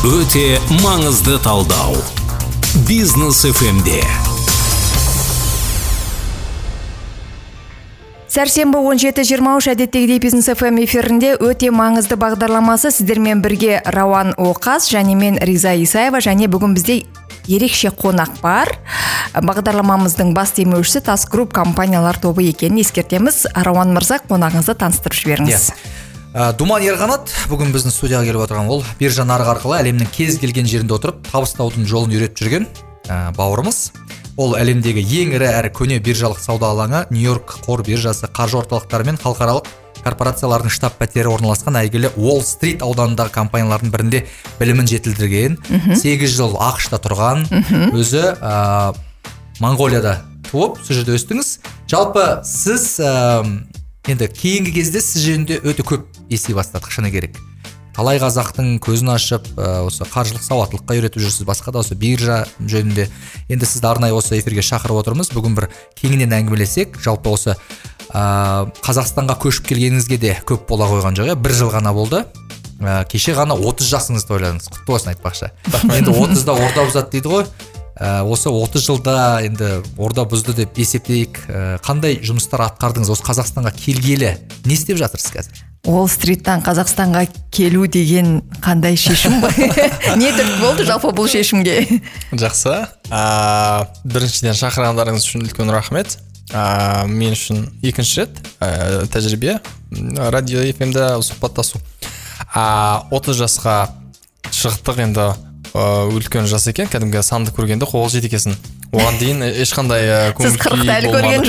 Өте маңызды талдау. Бизнес FM-де. Сәрсенбі 17:23 әдеттегідей Бизнес FM эфирінде өте маңызды бағдарламасы сіздермен бірге Рауан Оқас және мен Риза Исаева, және бүгін бізде ерекше қонақ бар. Бағдарламамыздың бас демеушісі Тас Групп компаниялар тобы екенін ескертеміз. Рауан мырза, қонағыңызды таныстырып жіберіңіз. Думан Ерғанат бүгін біздің студияға келіп отырған. Ол биржа нарығы арқылы әлемнің кез келген жерінде отырып табыстаудың жолын үйретіп жүрген бауырымыз. Ол әлемдегі ең ірі әрі көне биржалық сауда алаңы Нью-Йорк қор биржасы, қаржы орталықтары мен халықаралық корпорациялардың штаб-пәтері орналасқан әйгілі Уолл-стрит ауданындағы компаниялардың бірінде білімін жетілдірген, 8 жыл ақш-та тұрған, өзі Монғолияда туып, сол жерде өстіңіз. Жалпы сіз енді кейінгі кезде сіз жөнінде өте көп ести бастадық, шыны керек. Талай қазақтың көзін ашып, осы қаржылық сауаттылыққа үйретіп жүрсіз, басқа да осы биржа жөнінде. Енді сізді арнайы осы эфирге шақырып отырмыз. Бүгін бір кеңінен әңгімелесек, жалпы осы Қазақстанға көшіп келгеніңізге де көп бола қойған жоқ, 1 жыл ғана болды. Кеше ғана 30 жасыңызды тойладыңыз. Құтты болсын айтпақшы. Енді 30-да орда бұзады дейді ғой. Осы 30 жылда енді орда бұзды деп есептейік. Қандай жұмыстар атқардыңыз? Осы Қазақстанға келгелі не істеп жатырсыз қазір? Уолл-стриттан Қазақстанға келу деген қандай шешім ба? Не түрткі болды жалпы бұл шешімге? Жақсы. Біріншіден шақырғандарыңыз үшін үлкен рахмет. Мен үшін екінші рет тәжірибе радио FM-де сұхбаттасу. 30 жасқа шықтық, енді үлкен жас екен, кәдімгі санды көргенде қол жеті екенсің. Оған дейін ешқандай көңіл күй болмады. Сіз 40-та әлі көрген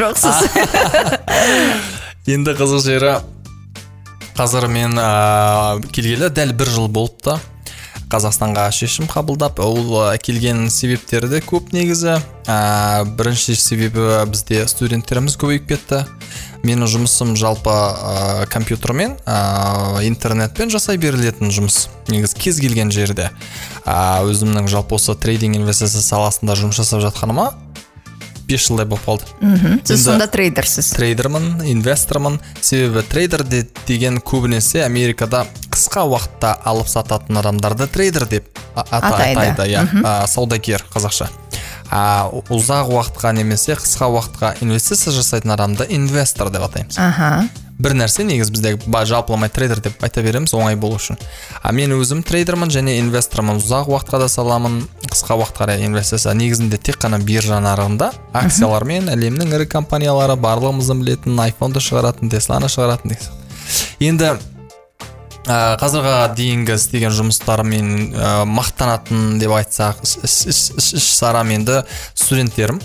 жоқсыз. Енді қызық жері, қазір мен келгелі дәл 1 жыл болыпты. Қазақстанға шешім қабылдап, ол келген себептері де көп негізі. Бірінші себебі бізде студенттеріміз көбейіп кетті. Менің жұмысым жалпы компьютермен, интернетпен жасай берілетін жұмыс. Негіз кез келген жерде. Өзімнің жалпы осы трейдинг инвестиция саласында жұмыс жасап жатқаныма 5 жылдай болып қалды. Сіз сонда трейдерсіз? Трейдермін, инвестормын. Себебі трейдер деген көбінесе Америкада қысқа уақытта алып сататын адамдарды трейдер деп атайды. Саудагер қазақша. Ұзақ уақытқа немесе қысқа уақытқа инвестиция жасайтын адамды инвестор деп атаймыз. Бір нәрсе негіз бізде жалпыламай трейдер деп айта береміз, оңай болу үшін. Мен өзім трейдермін және инвестормын. Ұзақ уақытқа да саламын, қысқа уақытқа инвестиция. Негізінде тек қана биржа нарығында акциялармен әлемнің ірі компаниялары, барлығымыздың білетін iPhone-ды шығаратын, Tesla-ны шығаратын. Енді қазірға дейінгі істеген жұмыстарымен мақтанатын деп айтсақ, іс-шарам енді студенттерім.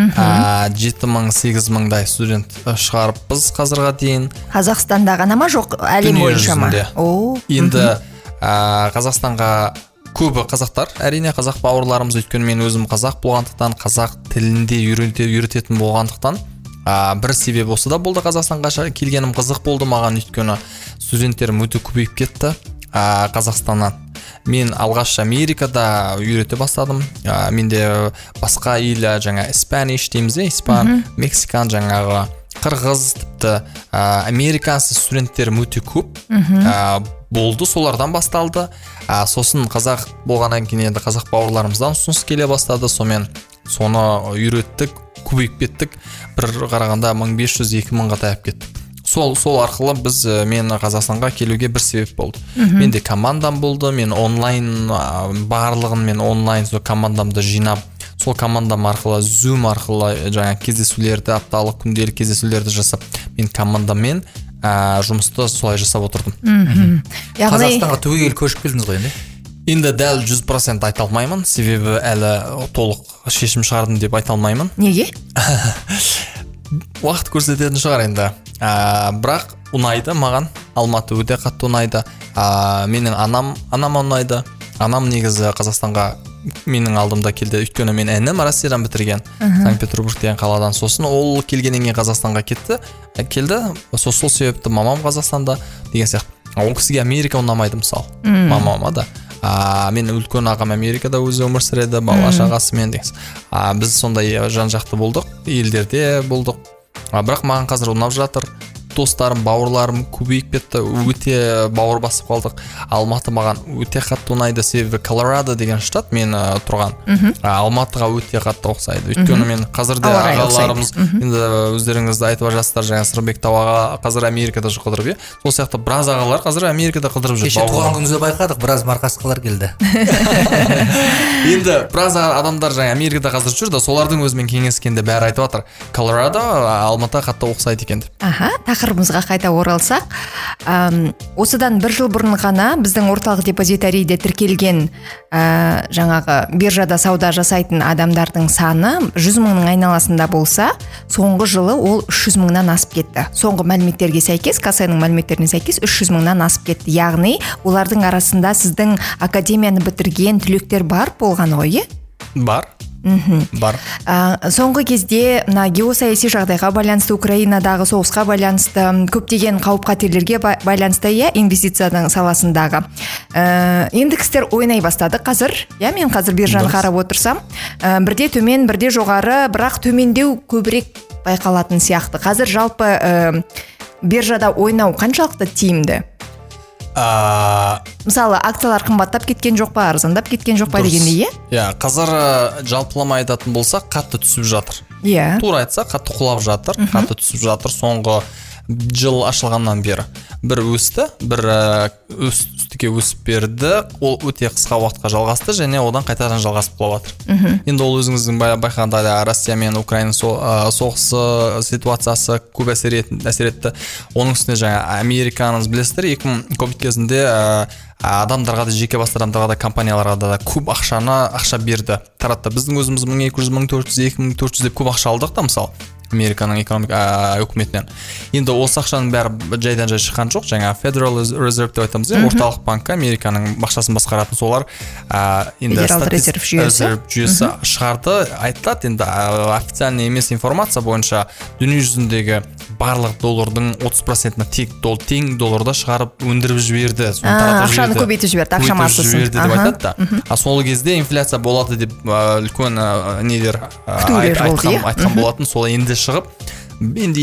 7-8-дай студент шығарыппыз қазірға дейін. Қазақстанда ғана ма, жоқ әлем бойынша ма? Енді Қазақстанға көбі қазақтар, әрине қазақ бауырларымыз, өйткені мен өзім қазақ болғандықтан, қазақ тілінде үйрететін болғандықтан, бір себеп осы да болды. Қазақстанға келгенім қызық болды маған, өйткені студенттерім өте көбейіп кетті Қазақстаннан. Мен алғаш Америкада үйрете бастадым. Менде басқа ел, жаңа Spanish дейміз, испан, мексикан, жаңағы қырғыз, тіпті американцы студенттерім өте көп болды, солардан басталды. Сосын қазақ болғаннан кейін енді қазақ бауырларымыздан ұсыныс келе бастады. Соны үйреттік, көбейіп кеттік. Бір қарағанда 1500-2000-ға таяп кеттік. Сол арқылы мен Қазақстанға келуге бір себеп болды. Менде командам болды, мен онлайн, барлығын мен онлайн сол командамды жинап, сол командам арқылы, Zoom арқылы жаңа кездесулерді, апталық күнделік кездесулерді жасап, мен командаммен жұмысты солай жасап отырдым. Қазақстанға түгел көшіп келдіңіз ғой енді? Енді дәл 100% айта алмаймын, себебі әлі толық шешім шығардым деп айта алмаймын. Неге? Уақыт көрсететін шығар енді. Бірақ ұнайды маған, Алматы өте қатты ұнайды. Менің анам ұнайды. Анам негізі Қазақстанға менің алдымда келді, өйткені мен інім Россиядан бітірген, Санкт-Петербург деген қаладан. Сосын ол келгеннен кейін Қазақстанға келді. Сол себепті мамам Қазақстанда деген сияқты. Ол кісіге Америка ұнамайды мысалы, мамама да. Мен үлкен ағам Америкада өзі өмір сүреді, бала шағасымен деген. Біз сондай жан-жақты болдық, елдерде болдық. Бірақ маған қазір ұнап жатыр. достарым, бауырларым көбейіп кетті, өте бауыр басып қалдық. Алматы маған өте қатты ұнайды, себебі Колорадо деген штат мен тұрған. Алматыға өте қатты ұқсайды. Өйткені мен қазірде ағаларымыз, енді өздеріңізді айтып жатсыздар, жаңа Сырбек Тауаға қазір Америкада қыдырып, сол сияқты біраз ағалар қазір Америкада қыдырып жүр. Кеше туған күніңізде байқадық, біраз марқасқалар келді. Енді біраз адамдар жаңа Америкада қазір жүр да, солардың өзімен кеңескенде бәрі айтып жатыр, Колорадо Алматы қатты ұқсайды екен деп. Тақырыбымызға қайта оралсақ, осыдан 1 жыл бұрын ғана біздің орталық депозитарийде тіркелген жаңағы биржада сауда жасайтын адамдардың саны 100 мыңның айналасында болса, соңғы жылы ол 300 мыңнан асып кетті. Соңғы мәліметтерге сәйкес, Касаның мәліметтеріне сәйкес 300 мыңнан асып кетті. Яғни, олардың арасында сіздің академияны бітірген түлектер бар болған ғой, Бар. Бар. Соңғы кезде геосаяси жағдайға байланысты, Украинадағы соғысқа байланысты, көптеген қауіп-қатерлерге байланысты, инвестицияның саласындағы индекстер ойнай бастады қазір. Мен қазір биржаны қарап отырсам, бірде төмен, бірде жоғары, бірақ төмендеу көбірек байқалатын сияқты. Қазір жалпы биржада ойнау қаншалықты тиімді? Мысалы, акциялар қымбаттап кеткен жоқ па, арзандап кеткен жоқ па дегендей, қазір жалпылама айтатын болсақ, қатты түсіп жатыр. Тура айтса, қатты құлап жатыр, қатты түсіп жатыр. Соңғы жыл ашылғаннан бері бір өсті, бір үстіге өсіп берді. Ол өте қысқа уақытқа жалғасты және одан қайтадан жалғасып құлап жатыр. Енді ол өзіңіздің байқағандай Россия мен Украина соғысы ситуациясы көп әсер етті. Оның үстіне жаңа Американы білесіздер, ковид кезінде адамдарға да, жеке басты адамдарға да, компанияларға да көп ақша берді. Таратты. Біздің өзіміз 1200, 1400, 2400 деп көп ақша алдық та, мысалы. Американың үкіметінен. Енді осы ақшаның бәрі жайдан жай шыққан жоқ. Жаңа Federal Reserve деп айтамыз, орталық банкі Американың бақшасын басқаратын солар Федерал резерв жүйесі шығарды. Айтылады, енді официальный емес информация бойынша дүние жүзіндегі барлық доллардың 30%-ны тең долларда шығарып өндіріп жіберді. Ақшаны көбейтіп жіберді, ақша массасын. деп айтады да. Сол кезде инфляция болады деп үлкен нелер айтқан болатын. Сол енді шығып, енді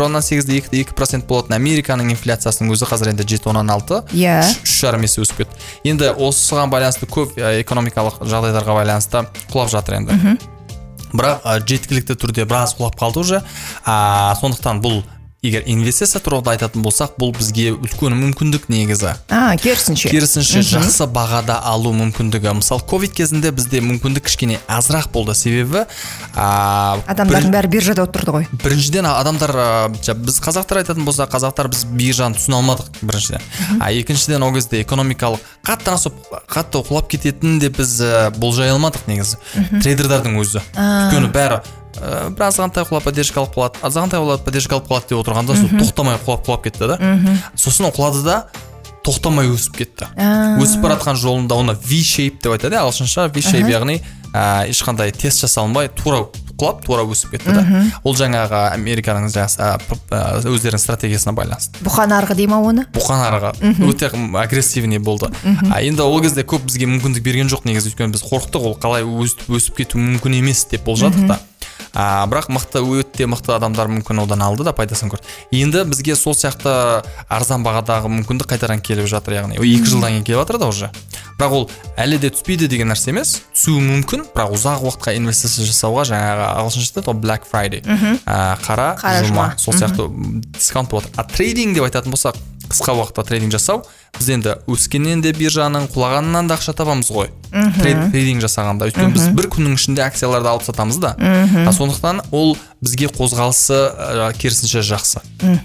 2,8-2% болатын Американың инфляциясының өзі қазір енді 7,6, 3,5 есе өсіп кетті. Енді осыған байланысты көп экономикалық жағдайларға байланысты құлап жатыр енді. Бірақ жеткілікті түрде біраз құлап қалды уже. Сондықтан бұл, егер инвестиция туралы айтатын болсақ, бұл бізге үлкен мүмкіндік негізі. Керісінше жақсы бағада алу мүмкіндігі. Мысалы, ковид кезінде бізде мүмкіндік кішкене азырақ болды, себебі адамдардың бәрі биржада отырды ғой. Біріншіден адамдар, біз қазақтар айтатын болсақ, қазақтар біз биржаны түсіне алмадық біріншіден. Екіншіден, ол кезде экономикалық қатты құлап кететін де біз болжай алмадық негізі. Трейдердардың өзі. Өйткені бәрі бір азғантай құлап поддержка алып қалады, азғантай құлап поддержка алып қалады деп отырғанда тоқтамай құлап кетті да. Сосын құлады да тоқтамай өсіп кетті. Өсіп баратқан жолында оны V-shape деп айтады, ағылшынша V-shape, яғни ешқандай тест жасалынбай тура құлап, тура өсіп кетті да. Ол жаңағы Американың өздерінің стратегиясына байланысты. Бұқан арғы дейма оны? Бұқан арғы өте агрессивный болды. Енді ол кезде көп бізге мүмкіндік берген жоқ негізі, өйткені біз қорықтық, ол қалай өсіп кету мүмкін емес деп болжадық да. Бірақ өте мықты адамдар мүмкін одан алды да, пайдасын көрді. Енді бізге сол сияқты арзан бағадағы мүмкіндік қайтадан келіп жатыр, яғни 2 жылдан кейін келіп жатыр да уже. Бірақ ол әлі де түспейді деген нәрсе емес, түсуі мүмкін, бірақ ұзақ уақытқа инвестиция жасауға жаңағы ағылшынша Black Friday, қара жұма, сол сияқты дискаунт болады. Трейдинг деп айтатын болсақ, қысқа уақытта трейдинг жасау, біз енді өскеннен де биржаның, құлағанынан да ақша табамыз ғой. Трейдинг жасағанда, өйткені біз бір күннің ішінде акцияларды алып сатамыз да. Сондықтан ол бізге қозғалысы керісінше жақсы.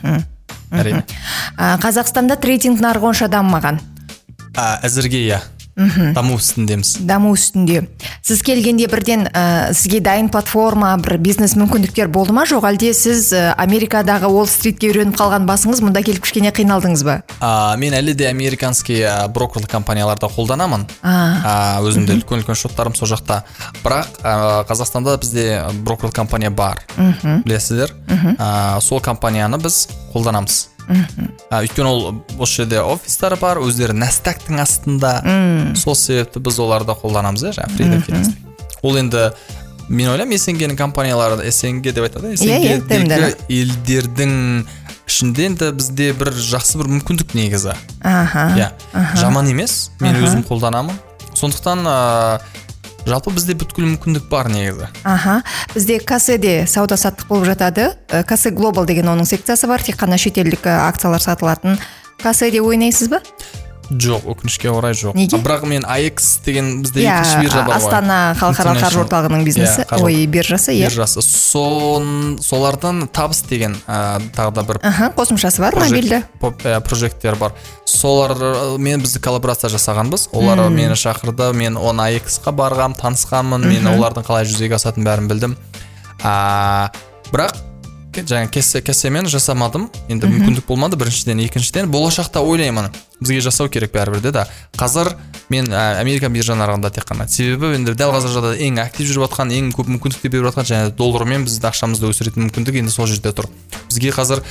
Әрине. Қазақстанда трейдинг нарығы онша дамымаған. Әзірге даму үстіндеміз. Даму үстінде. Сіз келгенде бірден сізге дайын платформа, бір бизнес мүмкіндіктер болды ма, жоқ әлде сіз Америкадағы Уолл-стритке үйреніп қалған басыңыз, мұнда келіп кішкене қиналдыңыз ба? Мен әлі де американский брокерлік компанияларда қолданамын. Өзімде үлкен шоттарым сол жақта. Бірақ Қазақстанда бізде брокерлік компания бар. Білесіздер? Сол компанияны біз қолданамыз. Өйткені ол осы жерде офистары бар, өздері Nasdaqтың астында. Сол себепті біз оларды қолданамыз, Ол енді мен ойлаймын, СНГ-ның компаниялары, СНГ деп айтады, СНГ-дегі елдердің ішінде енді бізде бір жақсы бір мүмкіндік негізі. Иә, жаман емес, мен өзім қолданамын. Сондықтан жалпы бізде бүткіл мүмкіндік бар негізі. Бізде касседе сауда саттық болып жатады. Кассе Global деген оның секциясы бар, тек қана шетелдік акциялар сатылатын. Касседе ойнайсыз ба? Жоқ, өкінішке орай жоқ. Неге? Бірақ мен AX деген бізде екінші биржа бар ғой. Астана халықаралық қаржы орталығының бизнесі, биржасы, биржасы. Солардан табыс деген тағы да бір қосымшасы бар, мобильді прожекттер бар. Солар бізді коллаборация жасағанбыз. Олар мені шақырды, мен оны AX-қа барғам, танысқанмын, мен олардың қалай жүзеге асатын бәрін білдім. Бірақ жаңа кессемен жасамадым. Енді мүмкіндік болмады біріншіден, екіншіден болашақта ойлаймын. Бізге жасау керек бәрібір де. Қазір мен Америка биржа нарығында тек қана. Себебі енді дәл қазір жағдайда ең актив жүріп жатқан, ең көп мүмкіндіктер беріп жатқан және доллармен біздің ақшамызды өсіретін мүмкіндік енді сол жерде тұр. Бізге қазір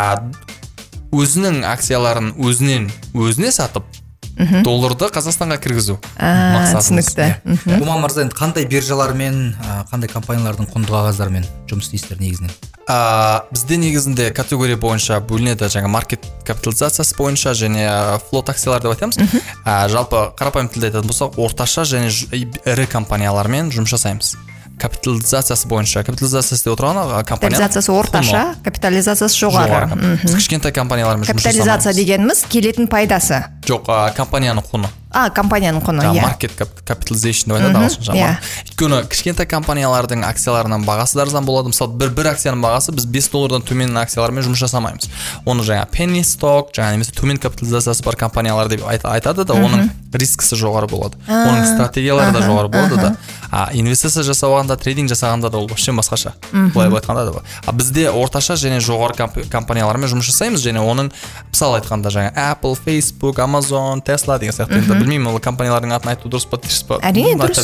өзінің акцияларын өзіне сатып долларды Қазақстанға кіргізу мақсатымыз. Түсінікті. Думан мырза, енді қандай биржалармен, қандай компаниялардың құнды қағаздарымен жұмыс істейсіздер негізінен? Бізде негізінде категория бойынша бөлінеді, жаңа маркет капитализациясы бойынша және флот акциялар деп айтамыз. Жалпы қарапайым тілде айтатын болсақ, орташа және ірі компаниялармен жұмыс жасаймыз. Капитализациясы бойынша, капитализациясы деп отырған компания. Капитализациясы орташа, капитализациясы жоғары. Біз кішкентай компаниялармен жұмыс жасаймыз. Капитализация дегеніміз келетін пайдасы. Жоқ, компанияның құны. Компанияның құны, иә. Market capitalization деп айтады ағылшынша. Өйткені кішкентай компаниялардың акцияларының бағасы да арзан болады. Мысалы, бір акцияның бағасы біз $5 төмен акциялармен жұмыс жасамаймыз. Оны жаңа penny stock, жаңа немесе төмен капитализациясы бар компаниялар деп айтады да, оның рискісі жоғары болады. Оның стратегиялары да жоғары болады да. Инвестиция жасауғанда, трейдинг жасағанда да ол вообще басқаша. Былай айтқанда да. Бізде орташа және жоғары компаниялармен жұмыс жасаймыз және оның мысалы айтқанда жаңа Apple, Facebook, Amazon, Tesla деген сияқты. Білмеймін, ол компаниялардың атын айту дұрыс па, дұрыс па? Әрине дұрыс.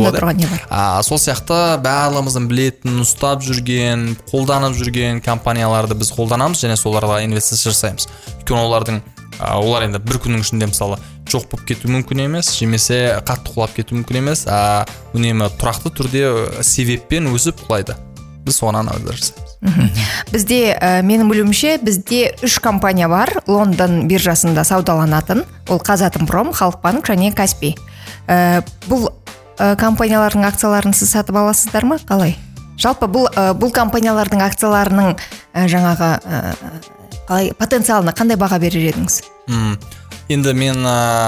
Сол сияқты барлығымыздың білетін, ұстап жүрген, қолданып жүрген компанияларды біз қолданамыз және соларға инвестиция жасаймыз. Өйткені олар енді бір күннің ішінде мысалы жоқ болып кету мүмкін емес, жемесе қатты құлап кету мүмкін емес, үнемі тұрақты түрде себеппен өсіп құлайды. Біз соған жасаймыз. Бізде, менің білуімше, бізде 3 компания бар, Лондон биржасында саудаланатын. Ол Қазатомпром, Халықбанк және Каспий. Бұл компаниялардың акцияларын сіз сатып аласыздар ма? Қалай? Жалпы бұл компаниялардың акцияларының жаңағы потенциалына қандай баға берер едіңіз? Енді мен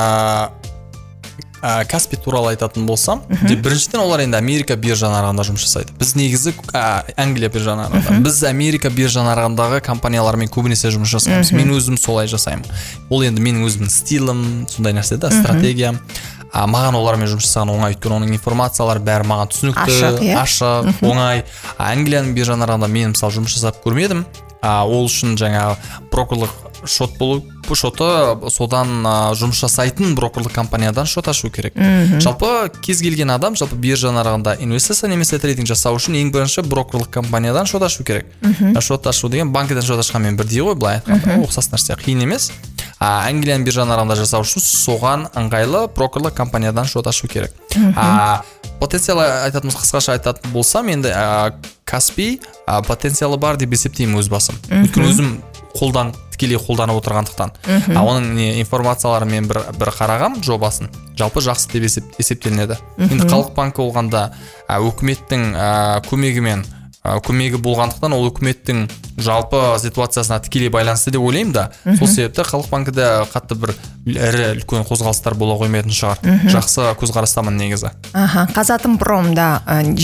Каспий туралы айтатын болсам, біріншіден олар енді Америка биржа нарығында жұмыс жасайды. Біз негізі Англия биржа нарығында. Біз Америка биржа нарығындағы компаниялармен көбінесе жұмыс жасаймыз. Мен өзім солай жасаймын. Ол енді менің өзімнің стилім, сондай нәрсе да, стратегиям. Маған олармен жұмыс жасаған оңай, өйткені оның информациялары бәрі маған түсінікті, ашық, оңай. Англияның биржа нарығында мен мысалы жұмыс жасап көрмедім. Ол үшін жаңа брокерлік шот болу, шоты содан жұмыс жасайтын брокерлік компаниядан шот ашу керек. Жалпы кез келген адам жалпы биржа нарығында инвестиция немесе трейдинг жасау үшін ең бірінші брокерлік компаниядан шот ашу керек. Шот ашу деген банкіден шот ашқанмен бірдей ғой, былай айтқанда ұқсас нәрсе, қиын емес. Англияның биржа нарығында жасау үшін соған ыңғайлы брокерлік компаниядан шот ашу керек. Потенциалы айтатымыз, қысқаша айтатын болсам, енді Каспий потенциалы бар деп есептеймін өз басым. Өйткені өзім тікелей қолданып отырғандықтан. Оның информацияларын мен бір қарағам жобасын. Жалпы жақсы деп есептелінеді. Енді Халық банкі болғанда өкіметтің көмегі болғандықтан ол өкіметтің жалпы ситуациясына тікелей байланысты деп ойлаймын да. Сол себепті Халық банкіде қатты бір үлкен қозғалыстар бола қоймайтын шығар. Жақсы көзқарастамын негізі. Қазатомпромда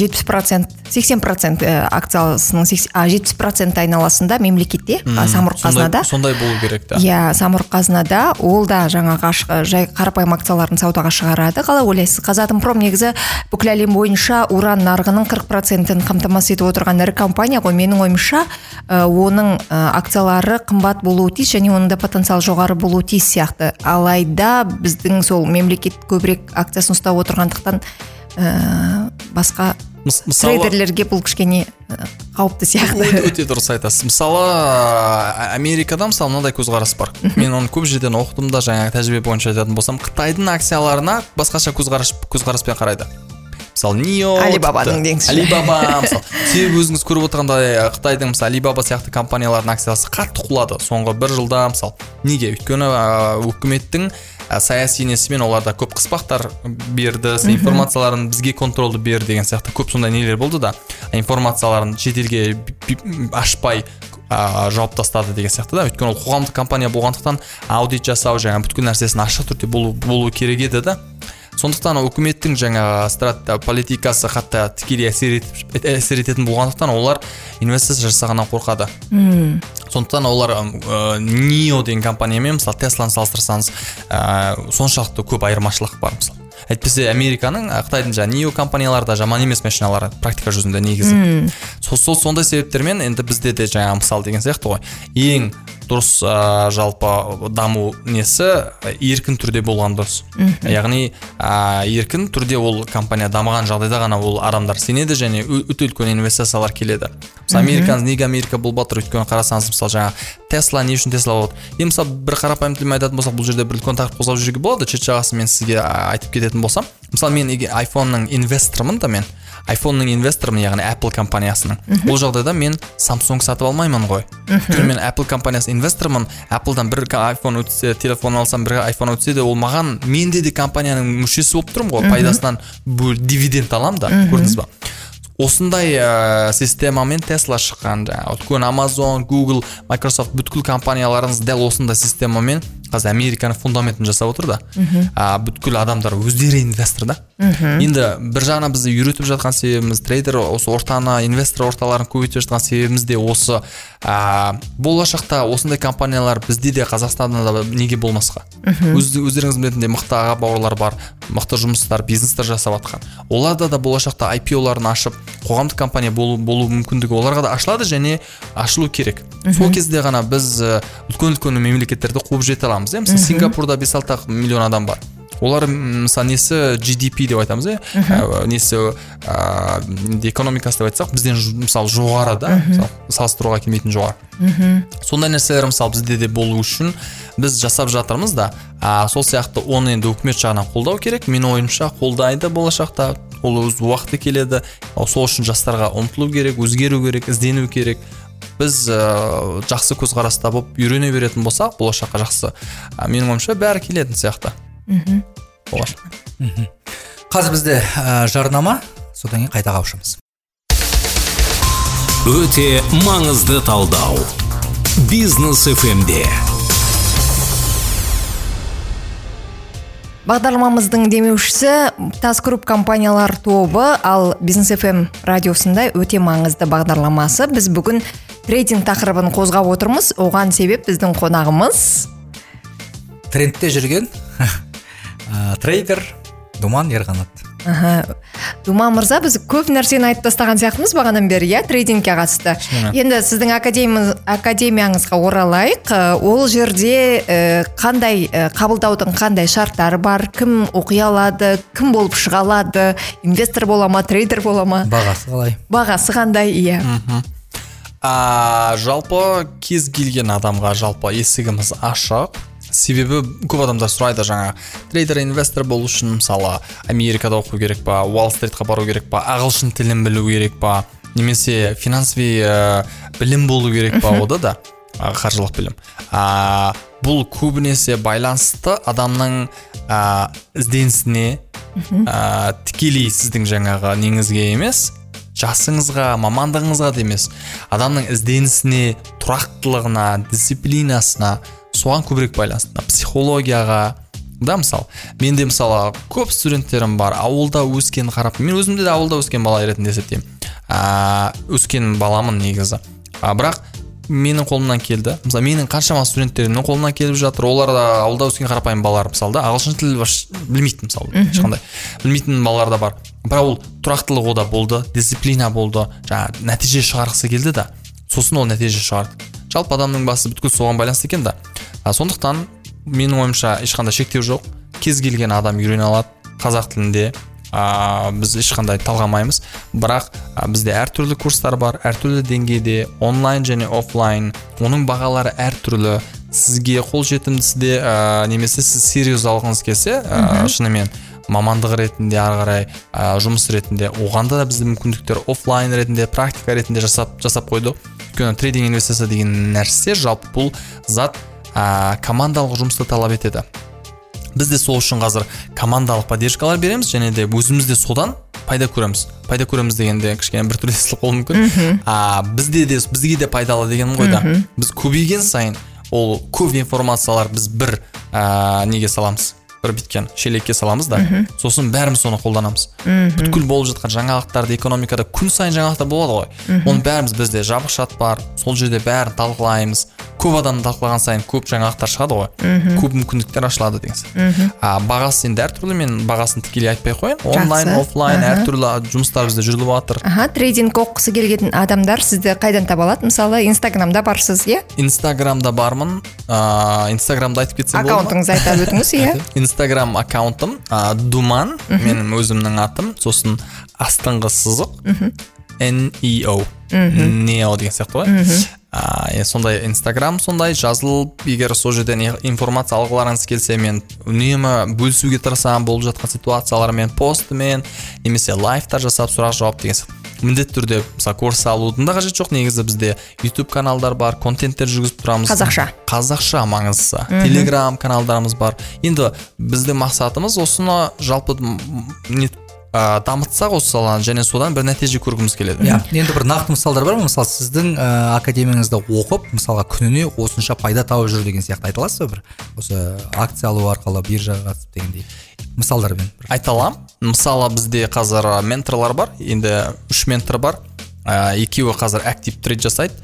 80% акциясының 70% айналасында мемлекетте, самұрық қазынада. Сондай болу керек та. Иә, самұрық қазынада ол да жаңағы жай қарапайым акцияларын саудаға шығарады. Қалай ойлайсыз? Қазатомпром негізі бүкіл әлем бойынша уран нарығының 40%-ін қамтамасыз етіп отырған ірі компания ғой. Менің ойымша, оның акциялары қымбат болуы тиіс және оның да потенциал жоғары болуы тиіс сияқты. Алайда біздің сол мемлекет көбірек акциясын ұстап отырғандықтан басқа трейдерлерге бұл кішкене қауіпті сияқты. Өте дұрыс айтасыз. Мысалы, Америкада мысалы мынадай көзқарас бар. Мен оны көп жерден оқыдым да, жаңағы тәжірибе бойынша айтатын болсам, Қытайдың акцияларына басқаша көзқараспен қарайды. мысалы Нио, Алибабаның деңізші. Алибаба мысалы. Себебі өзіңіз көріп отырғандай Қытайдың мысалы Алибаба сияқты компаниялардың акциясы қатты құлады соңғы 1 жылда мысалы. Неге? Өйткені үкіметтің саяси несімен оларда көп қыспақтар берді, информацияларын бізге контролды бер деген сияқты көп сондай нелер болды да. Информацияларын шетелге ашпай жауып тастады деген сияқты да. Өйткені ол қоғамдық компания болғандықтан аудит жасау жаңа бүткіл нәрсесін ашық түрде болу керек еді да. Сондықтан үкіметтің жаңа политикасы қатты тікелей әсер ететін болғандықтан олар инвестиция жасағаннан қорқады. Сондықтан олар Нио деген компаниямен мысалы Тесланы салыстырсаңыз соншалықты көп айырмашылық бар мысалы. Әйтпесе Американың, Қытайдың Нио компанияларда жаман емес машиналары практика жүзінде негізі. Сондай себептермен енді бізде де жаңа мысал деген сияқты ғой. Ең дұрыс жалпы даму несі еркін түрде болған дұрыс. Яғни еркін түрде ол компания дамыған жағдайда ғана ол адамдар сенеді және өте үлкен инвестициялар келеді. Американыз неге Америка болып жатыр? Өйткені қарасаңыз мысалы жаңа Тесла не үшін Тесла болады? Мысалы бір қарапайым тілмен айтатын болсақ, бұл жерде бір үлкен тақырып қозғап жүруге болады. Шет жағасын мен сізге айтып кететін болсам, мысалы мен iPhone-ның инвестормын да мен. iPhone-ның инвесторымын, яғни Apple компаниясының. Бұл жағдайда мен Samsung сатып алмаймын ғой. Өйткені мен Apple компаниясының инвесторымын. Apple-дан бір iPhone өтсе, телефон алсам, бір iPhone өтсе де, ол маған менде де компанияның мүшесі болып тұрмын ғой. Пайдасынан дивиденд алам да, көрдіңіз ба? Осындай системамен Tesla шыққан. Өйткені Amazon, Google, Microsoft бүткіл компанияларыңыз дәл осындай системамен қазір Американың фундаментін жасап отыр да. Бүткіл адамдар өздері инвестор да. Енді бір жағынан бізді үйретіп жатқан себебіміз, трейдер осы ортаны, инвестор орталарын көбейтіп жатқан себебіміз де осы болашақта осындай компаниялар бізде де Қазақстанда да неге болмасқа. Өздеріңіз білетіндей мықты аға бауырлар бар, мықты жұмыстар, бизнестер жасап жатқан. Оларда да болашақта IPO-ларын ашып, қоғамдық компания болу мүмкіндігі оларға да ашылады және ашылу керек. Сол кезде ғана біз үлкен мемлекеттерді қуып жете аламыз. Мысалы Сингапурда 5-6 миллион адам бар. Олар мысалы несі GDP деп айтамыз, несі экономикасы деп айтсақ, бізден мысалы жоғары да, салыстыруға келмейтін жоғары. Сондай нәрселер мысалы бізде де болу үшін біз жасап жатырмыз да, сол сияқты оны енді үкімет жағынан қолдау керек. Мен ойымша қолдайды болашақта, ол өз уақыты келеді. Сол үшін жастарға ұмтылу керек, өзгеру керек, іздену керек. Біз жақсы көзқараста болып үйрене беретін болсақ, болашаққа жақсы. Менің ойымша бәрі келетін сияқты. Қазір бізде жарнама, содан кейін қайта қауышамыз. Өте маңызды талдау. Бизнес FM-де. Бағдарламамыздың демеушісі Тас Групп компаниялар тобы, ал Бизнес FM радиосында өте маңызды бағдарламасы. Біз бүгін трейдинг тақырыбын қозғап отырмыз. Оған себеп біздің қонағымыз трендте жүрген трейдер Думан Ерғанат. Думан мырза, біз көп нәрсені айтып тастаған сияқтымыз бағанадан бері, трейдингке қатысты. Енді сіздің академияңызға оралайық. Ол жерде қандай қабылдаудың қандай шарттары бар, кім оқи алады, кім болып шыға алады, инвестор бола ма, трейдер бола ма? Бағасы қалай? Бағасы қандай, иә. Жалпы кез келген адамға жалпы есігіміз ашық. Себебі көп адамдар сұрайды жаңа трейдер, инвестор болу үшін мысалы Америкада оқу керек па, Уолл-стритқа бару керек па, ағылшын тілін білу керек па, немесе финансови білім болу керек па, ода да қаржылық білім. Бұл көбінесе байланысты адамның ізденісіне, тікелей сіздің жаңағы неңізге емес, жасыңызға, мамандығыңызға да емес, адамның ізденісіне, тұрақтылығына, дисциплинасына, соған көбірек байланысты. Психологияға да мысалы. Менде мысалы көп студенттерім бар, ауылда өскен қарап, мен өзімде де ауылда өскен бала ретінде есептеймін. Өскен баламын негізі. Бірақ менің қолымнан келді. Мысалы менің қаншама студенттерімнің қолынан келіп жатыр. Олар да ауылда өскен қарапайым балалар мысалы да, ағылшын тілін білмейтін мысалы, ешқандай білмейтін балалар да бар. Бірақ ол тұрақтылық ода болды, дисциплина болды, жаңа нәтиже шығарғысы келді да, сосын ол нәтиже шығарды. Жалпы адамның басы бүткіл соған байланысты екен да. Сондықтан менің ойымша ешқандай шектеу жоқ. Кез келген адам үйрене алады қазақ тілінде. Біз ешқандай талғамаймыз. Бірақ бізде әртүрлі курстар бар, әртүрлі деңгейде, онлайн және офлайн. Оның бағалары әртүрлі. Сізге қолжетімдісі де немесе сіз серьез алғыңыз келсе, шынымен мамандық ретінде ары қарай жұмыс ретінде оғанда да біздің мүмкіндіктер офлайн ретінде практика ретінде жасап қойдық. Өйткені трейдинг инвестиция деген нәрсе жалпы бұл зат командалық жұмысты талап етеді. Біз де сол үшін қазір командалық поддержкалар береміз және де өзіміз де содан пайда көреміз. Пайда көреміз дегенде кішкене бір түрлі естіліп қалуы мүмкін. Бізге де пайдалы дегенім ғой да. Біз көбейген сайын ол көп информациялар біз бір неге саламыз. Бір біткен шелекке саламыз да. Сосын бәріміз соны қолданамыз. Бүткіл болып жатқан жаңалықтарды экономикада күн сайын жаңалықтар болады ғой. Оның бәріміз бізде жабық чат бар. Сол жерде бәрін талқылаймыз. Көп адам талқылаған сайын көп жаңалықтар шығады ғой. Көп мүмкіндіктер ашылады деген сияқты. Бағасы енді әртүрлі, мен бағасын тікелей айтпай қояйын. Онлайн, офлайн әртүрлі жұмыстар бізде жүріп жатыр. Трейдинг оқығысы келген адамдар сізді қайдан таба алады? Мысалы, Инстаграмда барсыз, иә? Инстаграмда бармын. Инстаграмда айтып кетсем болады ма? Аккаунтыңызды айта өтіңіз, иә? Инстаграм аккаунтым Думан, менің өзімнің атым, сосын астыңғы сызық NEO Neo деген сияқты ғой. Сондай Инстаграм сондай жазылып, егер сол жерден информация алғыларыңыз келсе, мен үнемі бөлісуге тырысамын болып жатқан ситуациялармен, постымен, немесе лайфтар жасап сұрақ жауап деген сияқты. Міндетті түрде мысалы курс алудың да қажет жоқ. Негізі бізде YouTube каналдар бар, контенттер жүргізіп тұрамыз. Қазақша маңыздысы. Telegram каналдарымыз бар. Енді біздің мақсатымыз осыны жалпы дамытсақ осы саланы және содан бір нәтиже көргіміз келеді. Енді бір нақты мысалдар бар ма? Мысалы сіздің академияңызда оқып, мысалға күніне осынша пайда тауып жүр деген сияқты айта аласыз ба бір? Осы акция алу арқылы биржаға қатысып дегендей мысалдармен айта аламын. Мысалы бізде қазір менторлар бар. Енді 3 ментор бар. Екеуі қазір актив трейд жасайды.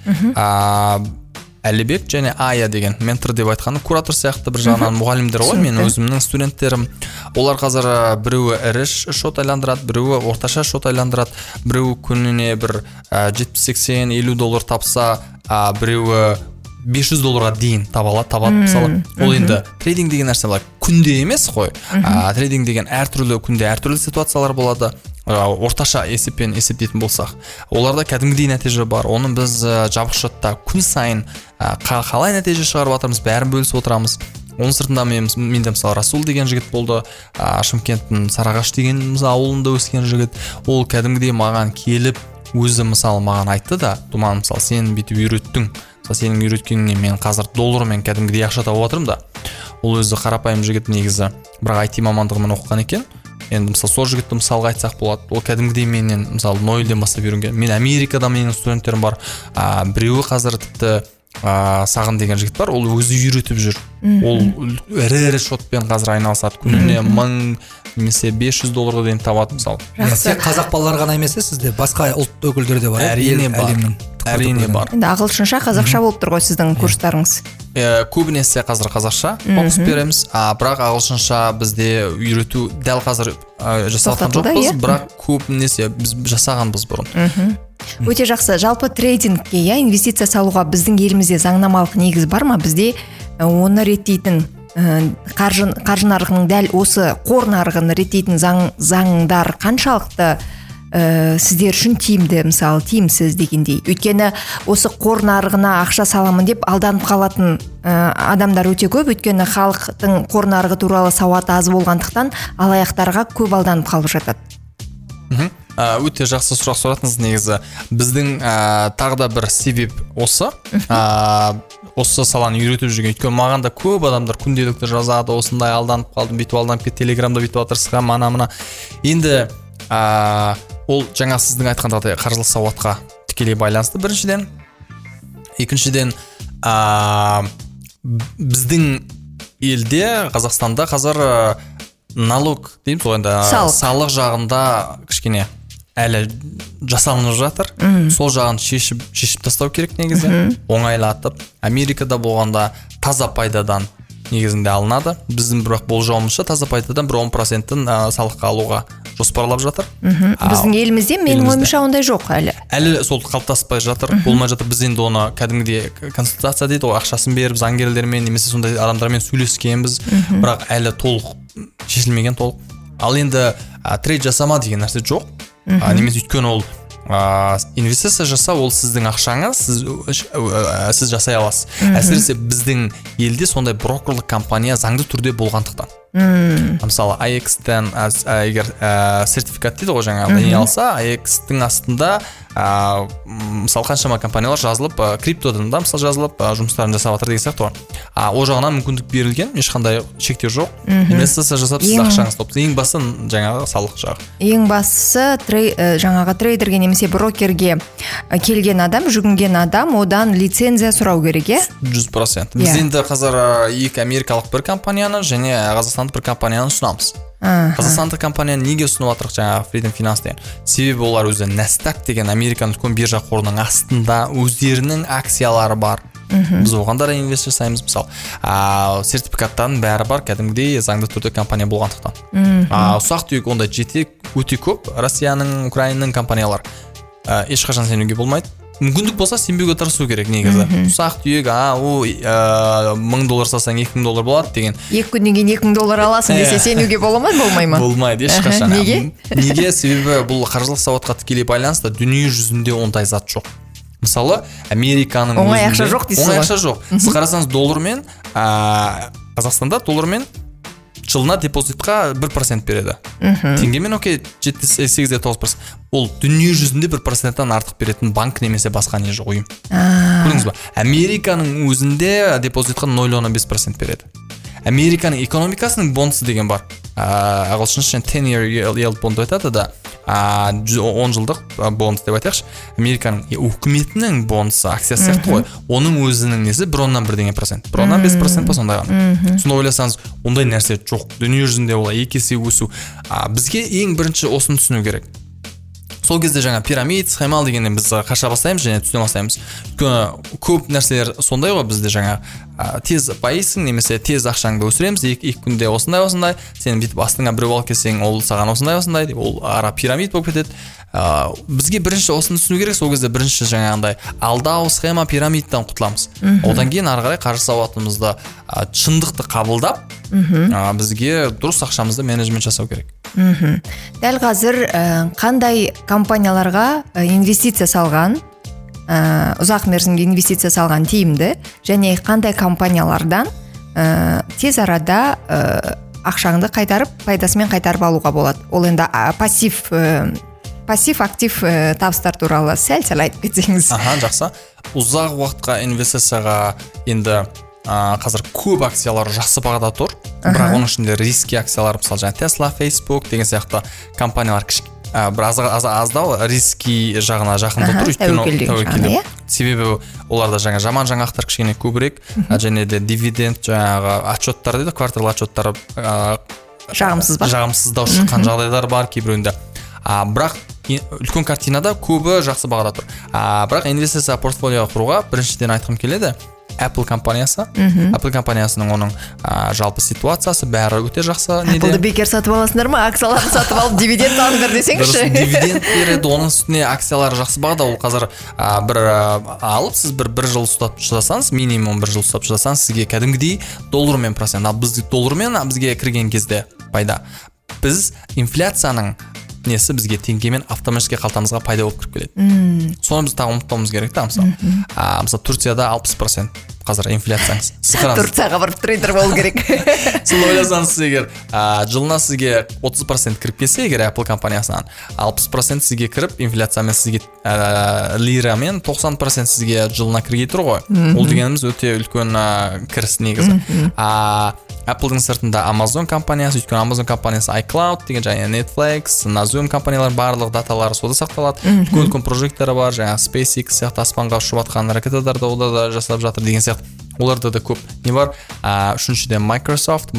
Әлібек және Ая деген ментор деп айтқаны куратор сияқты бір жағынан мұғалімдер ғой, мен өзімнің студенттерім. Олар қазір біреуі ірі шот айландырады, біреуі орташа шот айландырады, біреуі күніне бір 70-80-50 доллар тапса, біреуі $500 дейін табады мысалы. Ол енді трейдинг деген нәрсе күнде емес қой. Трейдинг деген әртүрлі күнде әртүрлі ситуациялар болады. Орташа есеппен есептейтін болсақ, оларда кәдімгідей нәтиже бар. Оны біз жабық шотта күн сайын қалай нәтиже шығарып жатырмыз, бәрін бөлісіп отырамыз. Оның сыртында менде мысалы Расул деген жігіт болды, Шымкенттің Сарағаш деген ауылында өскен жігіт. Ол кәдімгідей маған келіп өзі мысалы маған айтты да, Думан, мысалы сен бүйтіп үйреттің, сенің үйреткеніңе мен қазір доллармен кәдімгідей ақша тауып отырмын да. Ол өзі қарапайым жігіт негізі, бірақ IT мамандығымен оқыған екен. Енді мысалы сол жігітті мысалға айтсақ болады. Ол кәдімгідей менен мысалы нөлден бастап үйренген. Мен Америкада менің студенттерім бар. Біреуі қазір тіпті Сағын деген жігіт бар. Ол өзі үйретіп жүр. Ол ірі шотпен қазір айналысады. Күніне 1000 немесе $500 дейін табады мысалы. Тек қазақ балалар ғана емес, сізде басқа ұлт өкілдері де бар. Әрине бар. Енді ағылшынша, қазақша болып тұр ғой сіздің курстарыңыз. Көбінесе қазір қазақша фокус береміз, бірақ ағылшынша бізде үйрету дәл қазір жасалған жоқпыз, бірақ көбінесе біз жасағанбыз бұрын. Өте жақсы. Жалпы трейдингке, инвестиция салуға біздің елімізде заңнамалық негіз бар ма? Бізде оны реттейтін қаржы нарығының дәл осы қор нарығын реттейтін заңдар қаншалықты сіздер үшін тиімді, мысалы тиімсіз дегендей. Өйткені осы қор нарығына ақша саламын деп алданып қалатын адамдар өте көп. Өйткені халықтың қор нарығы туралы сауаты аз болғандықтан алаяқтарға көп алданып қалып жатады. Өте жақсы сұрақ сұратыңыз. Негізі біздің тағы да бір себеп осы саланы үйретіп жүрген. Өйткені маған да көп адамдар күнделікті жазады, осындай алданып қалдым, бүйтіп алданып кетті, Телеграмда бүйтіп отырсызға, мана. Енді ол жаңа сіздің айтқандағыдай қаржылық сауатқа тікелей байланысты біріншіден. Екіншіден, біздің елде, Қазақстанда қазір налог дейміз ғой, енді салық жағында кішкене әлі жасалынып жатыр. Сол жағын шешіп тастау керек негізі. Оңайлатып. Америкада болғанда таза пайдадан негізінде алынады. Біздің бірақ болжауымызша таза пайдадан бір 10%-ін салыққа алуға жоспарлап жатыр. Біздің елімізде менің ойымша ондай жоқ әлі. Әлі сол қалыптаспай жатыр, болмай жатыр. Біз енді оны кәдімгідей консультация дейді, ақшасын беріп заңгерлермен немесе сондай адамдармен сөйлескенбіз, бірақ әлі толық шешілмеген толық. Ал енді трейд жасама деген нәрсе жоқ. Немесе өйткені ол инвестиция жасау, ол сіздің ақшаңыз, сіз жасай аласыз. Әсіресе біздің елде сондай брокерлік компания заңды түрде болғандықтан. Мысалы AX-тен егер сертификат дейді ғой жаңағы не алса, AX-тің астында мысалы қаншама компаниялар жазылып, криптодан да мысалы жазылып жұмыстарын жасап жатыр деген сияқты ғой. Ол жағынан мүмкіндік берілген, ешқандай шектеу жоқ. Инвестиция жасап сіз ақшаңызды тауып, ең басты жаңағы салық жағы. Ең бастысы жаңағы трейдерге немесе брокерге келген адам, жүгінген адам, одан лицензия сұрау керек, иә? 100%. Біз енді қазір екі америкалық бір компанияны және қазақстандық бір компанияны ұсынамыз. Қазақстандық компанияны неге ұсынып жатырық жаңағы Freedom Finance деген? Себебі олар өзі Nasdaq деген Американың үлкен биржа қорының астында өздерінің акциялары бар. Біз оған да инвест жасаймыз мысалы. Сертификаттардың бәрі бар, кәдімгідей заңды түрде компания болғандықтан. Ұсақ түйек ондай өте көп Россияның, Украинаның компаниялар. Ешқашан сенуге болмайды. Мүмкіндік болса сенбеуге тырысу керек негізі. Ұсақ түйек, $1000 салсаң $2000 болады деген. 2 күннен кейін $2000 аласың десе сенуге бола ма, болмай ма? Болмайды ешқашан. Неге? Неге? Себебі бұл қаржылық сауатқа тікелей байланысты, дүние жүзінде ондай зат жоқ. Мысалы, Американың өзінде оңай ақша жоқ дейсіз ғой. Оңай ақша жоқ. Сіз қарасаңыз доллармен, Қазақстанда доллармен жылына депозитқа 1% береді. Теңгемен 7-8-9%. Ол дүние жүзінде 1%-тан артық беретін банк немесе басқа не жоқ ұйым. Көрдіңіз ба? Американың өзінде депозитқа 0,5% береді. Американың экономикасының бонусы деген бар. Ағылшынша 10-year yield bond айтады да. 10 жылдық бонус деп айтайықшы. Американың үкіметінің бонусы, акциясы сияқты ғой. Оның өзінің несі 1,1%. 1,5% па сондай ғана. Сонда ойласаңыз, ондай нәрсе жоқ. Дүние жүзінде олай 2 есе өсу. Бізге ең бірінші осыны түсіну керек. Сол кезде жаңа пирамид, схемал дегеннен біз қаша бастаймыз және түсіне бастаймыз. Көп нәрселер сондай ғой бізде жаңа тез байысың немесе тез ақшаңды өсіреміз, екі күнде осындай, сен бүйтіп астыңа біреу алып келсең, ол саған осындай деп, ол ара пирамид болып кетеді. Бізге бірінші осыны түсіну керек, сол кезде бірінші жаңағындай алдау, схема, пирамидтан құтыламыз. Одан кейін ары қарай қаржы сауатымызды шындықты қабылдап, бізге дұрыс ақшамызды менеджмент жасау керек. Дәл қазір қандай компанияларға инвестиция салған, ұзақ мерзімге инвестиция салған тиімді, және қандай компаниялардан тез арада ақшаңды қайтарып, пайдасымен қайтарып алуға болады? Ол енді пассив-актив табыстар туралы сәл айтып кетсеңіз. Жақсы. Ұзақ уақытқа инвестицияға енді қазір көп акциялар жақсы бағада тұр, бірақ оның ішінде риски акциялар, мысалы жаңа Tesla, Facebook деген сияқты компаниялар бір аздау риски жағына жақында тұр, өйткені тәуекелдеу. Себебі оларда жаман жаңалықтар кішкене көбірек, және де дивиденд жаңағы отчеттар дейді, квартал отчеттары жағымсыздау шыққан жағдайлар бар кейбіреуінде. Бірақ үлкен картинада көбі жақсы бағада тұр. Бірақ инвестиция портфолиоға құруға біріншіден айтқым келеді, Apple компаниясы. Apple компаниясының оның жалпы ситуациясы бәрі өте жақсы. Apple'ды бекер сатып аласыңдар ма? Акцияларын сатып алып дивиденд алыңдар десеңізші. Дивиденд береді, оның үстіне акциялары жақсы бағада. Ол қазір бір алып, сіз бір жыл ұстап шыдасаңыз, минимум бір жыл ұстап шыдасаңыз, сізге кәдімгідей доллармен процент. Ал біз доллармен бізге кірген кезде пайда. Біз инфляцияның несі бізге теңгемен автоматически қалтамызға пайда болып кіріп келеді. Соны біз тағы ұмытпауымыз керек та, мысалы. Мысалы Турцияда 60% қазір инфляцияңыз. Турцияға барып трейдер болу керек. Соны ойласаңыз, егер жылына сізге 30% кіріп келсе, егер Apple компаниясынан 60% сізге кіріп, инфляциямен сізге лирамен 90% сізге жылына кіргей тұр ғой. Ол дегеніміз өте үлкен кіріс негізі. Apple-дың сыртында Amazon компаниясы, өйткені Amazon компаниясы iCloud деген және Netflix, Zoom компаниялар барлық даталары сода сақталады. Үлкен прожекттері бар, жаңа SpaceX сияқты аспанға ұшып жатқан ракеталарды олар да жасап жатыр деген сияқты. Оларда да көп не бар. Үшіншіден Microsoft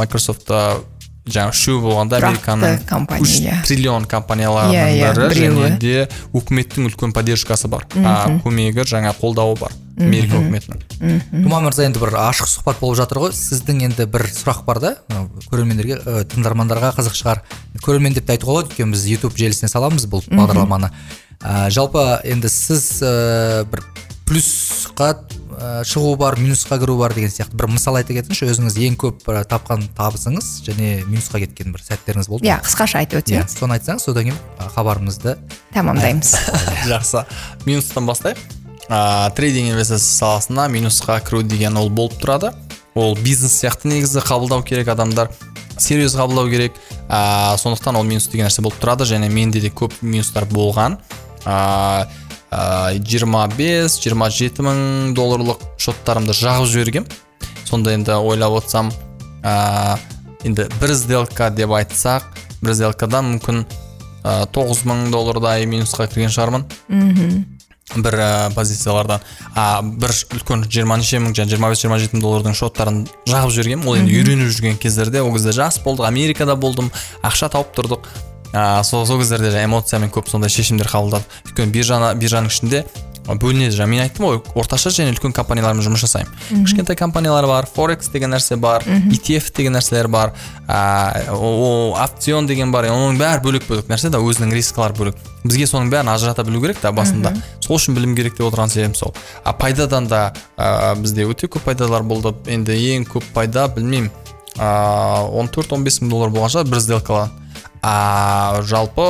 жаңа үшеу болғанда Американың 3 триллион компанияларының бірі, және де үкіметтің үлкен поддержкасы бар. Көмегі жаңа қолдауы бар. Америка үкіметінің. Думан мырза, енді бір ашық сұхбат болып жатыр ғой. Сіздің енді бір сұрақ бар да, көрермендерге, тыңдармандарға қызық шығар. Көрермен деп айтуға болады, өйткені біз YouTube желісіне саламыз бұл бағдарламаны. Жалпы енді сіз бір плюсқа шығу бар, минусқа кіру бар деген сияқты бір мысал айта кетіңізші, өзіңіз ең көп тапқан табысыңыз және минусқа кеткен бір сәттеріңіз болды ма? Қысқаша айтып өтсеңіз. Соны айтсаңыз, содан кейін хабарымызды тамамдаймыз. Жақсы. Минустан бастайық. Трейдинг инвестиция саласына минусқа кіру деген ол болып тұрады. Ол бизнес сияқты негізі қабылдау керек адамдар. серьез қабылдау керек. Сондықтан ол минус деген нәрсе болып тұрады, және менде де көп минустар болған. 25-27 мың долларлық шоттарымды жағып жібергем. Сонда енді ойлап отырсам, енді бір сделка деп айтсақ, бір сделкадан мүмкін 9 мың доллардай минусқа кірген шығармын. Бір позициялардан. Бір үлкен 20 мың, 25-27 мың доллардың шоттарын жағып жібергем. Ол енді үйреніп жүрген кездерде, ол кезде жас болдық, Америкада болдым, ақша тауып тұрдық. Сол кездерде эмоциямен көп сондай шешімдер қабылдадық. Өйткені биржаның ішінде бөлінеді. Мен айттым ғой, орташа және үлкен компаниялармен жұмыс жасаймын. Кішкентай компаниялар бар, Forex деген нәрсе бар, ETF деген нәрселер бар, опцион деген бар. Оның бәрі бөлек нәрсе да, өзінің рискілері бөлек. Бізге соның бәрін ажырата білу керек та басында. Сол үшін білім керек деп отырған себебім сол. Пайдадан да бізде өте көп пайдалар болды. Енді ең көп пайда, білмеймін, 14-15 мың доллар болған шығар бір сделкадан. Жалпы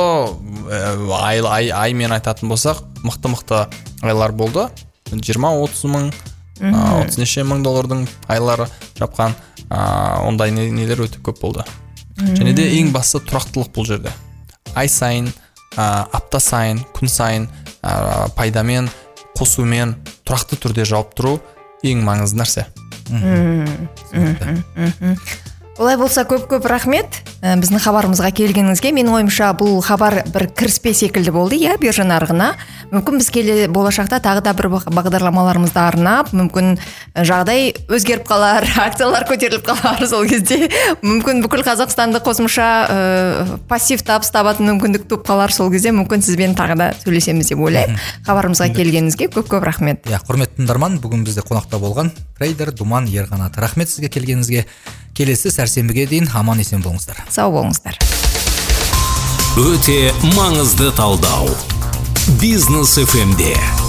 аймен айтатын болсақ, мықты айлар болды. 20-30 мың, 30 неше мың доллардың айлары жапқан, ондай нелер өте көп болды. Және де ең бастысы тұрақтылық бұл жерде. Ай сайын, апта сайын, күн сайын пайдамен, қосумен тұрақты түрде жауап тұру ең маңызды нәрсе. Олай болса көп рахмет біздің хабарымызға келгеніңізге. Менің ойымша бұл хабар бір кіріспе секілді болды, биржа нарығына. Мүмкін біз болашақта тағы да бір бағдарламаларымызды арнап, мүмкін жағдай өзгеріп қалар, акциялар көтеріліп қалар, сол кезде мүмкін бүкіл Қазақстанды қосымша пассив табыс табатын мүмкіндік туып қалар, сол кезде мүмкін сізбен тағы да сөйлесеміз деп ойлаймын. Хабарымызға келгеніңізге көп рахмет. Құрметті тыңдарман, бүгін бізде қонақта болған трейдер Думан Ерғанат. Рахмет сізге келгеніңізге. Келесі сәрсенбіге дейін аман есен болыңыздар. Сау болыңыздар. Өте маңызды талдау. Бизнес FM-де.